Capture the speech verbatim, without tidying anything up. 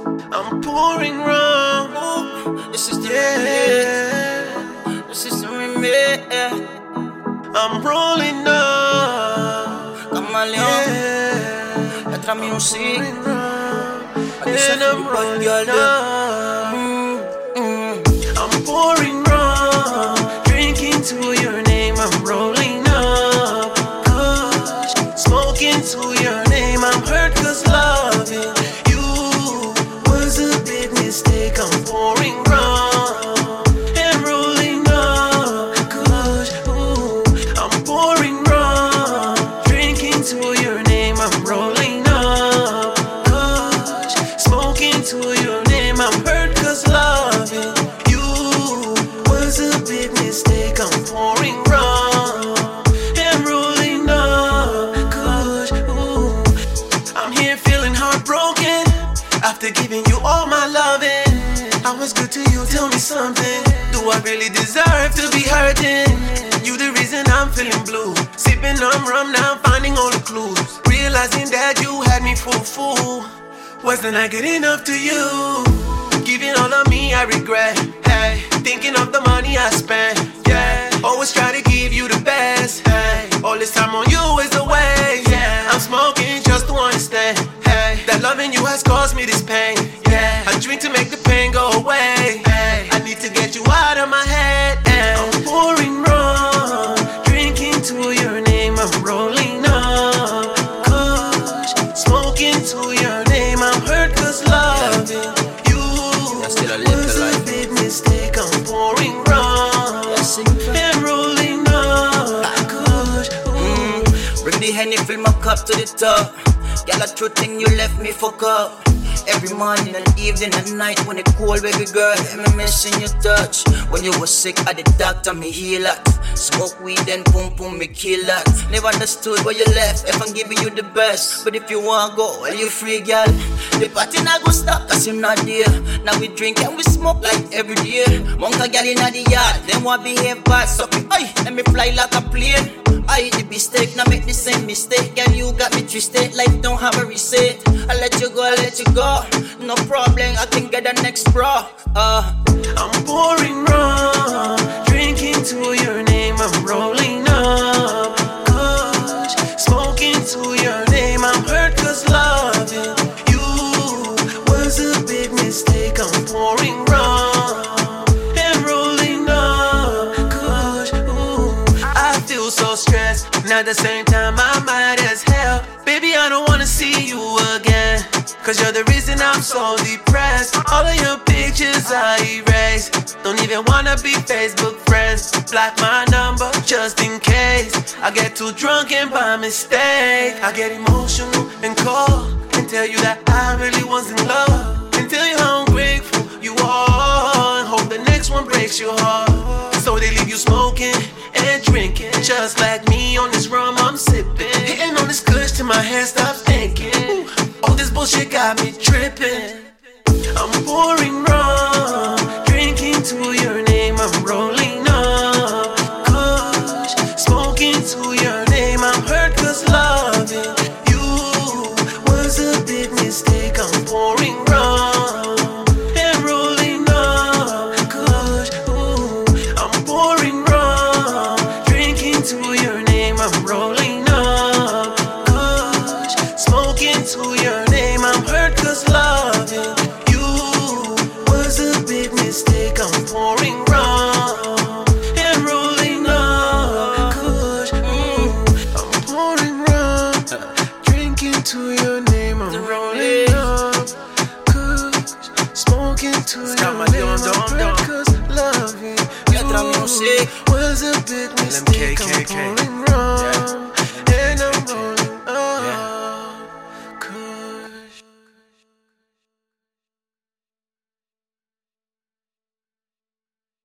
I'm pouring rum. Ooh, this is the Yeah. remix. This is the remix. I'm rolling up. Kamaleon, Yeah. Petra Music. Pouring rum. I guess And I I'm feel bad, rolling girl, up. Mm, mm. I'm pouring rum, drinking to your name. I'm rolling up, Kush, smoking to your name. I'm hurt 'cause loving you was a big mistake. I'm pouring rum and rolling up, Kush. Ooh, I'm pouring rum, drinking to your name. I'm rolling up, Kush, smoking to your name. I'm hurt 'cause loving you was a big mistake. I'm pouring rum and rolling up, Kush. Ooh, I'm here feeling heartbroken after giving you all my loving. I was good to you, tell me something. Do I really deserve to be hurting? You the reason I'm feeling blue. Sipping on rum now, finding all the clues. Realizing that you had me fool fool. Wasn't I good enough to you? Giving all of me, I regret. Hey, thinking of the money I spent. Yeah, always try to give you the best. Hey, all this time on you is a waste. Yeah, I'm smoking just to understand. Hey, that loving you has caused me this pain. Yeah, I drink to make the pain go away. Hey, I need to get you out of my head. Hey, I'm pouring rum, drinking to your name. I'm rolling up, Kush, smoking to your name. I'm hurt 'cause loving you still a little was a life. big mistake. I'm pouring rum Yes, and rolling up, Kush. Ooh. Bring the Henny, fill my cup to the top. Girl, a true thing, you left me fuck up. Every morning and evening and night when it cold, baby girl, let me missing your touch. When you were sick, I the doctor, me heal that. Smoke weed and boom boom, me kill that. Never understood where you left, if I'm giving you the best. But if you wanna go, well you free, girl. The party not go stop, cause you're not there. Now we drink and we smoke like every day. Monka girl in the yard, them want behave bad. So, ay, let me fly like a plane. I the mistake, now make the same mistake. Girl, you got me twisted, life don't have a reset. I let you go, I let you go. No problem, I can get the next bro. Uh, I'm pouring rum, drinking to your name. I'm rolling up, Kush, smoking to your name. I'm hurt 'cause loving you was a big mistake. I'm pouring rum and rolling up, Kush. Ooh, I feel so stressed, and at the same time I'm mad as hell. Baby, I don't wanna see you again, 'cause you're the reason I'm so depressed. All of your pictures I erase. Don't even wanna be Facebook friends. Block my number just in case I get too drunk and by mistake I get emotional and call and tell you that I really was in love, and tell you how ungrateful you are, and hope the next one breaks your heart. So they leave you smoking and drinking, just like me on this rum I'm sipping. Hitting on this kush till my head stops thinking. Ooh, all this bullshit got me tripping. I'm pouring rum, drinking to your name. I'm rolling up, Kush, smoking to your name. I'm hurt 'cause loving you was a big mistake. I'm pouring rum and rolling up, Kush. Ooh, I'm pouring rum, drinking to your name. I'm rolling up, Kush, smoking to your name. I'm hurt 'cause loving you was a big mistake. I'm pouring rum and rolling up, Kush. Ooh, I'm pouring rum, drinking to your name. I'm rolling up, Kush, smoking to your name. I'm hurt 'cause loving Petra you Music. was a big mistake. I'm pouring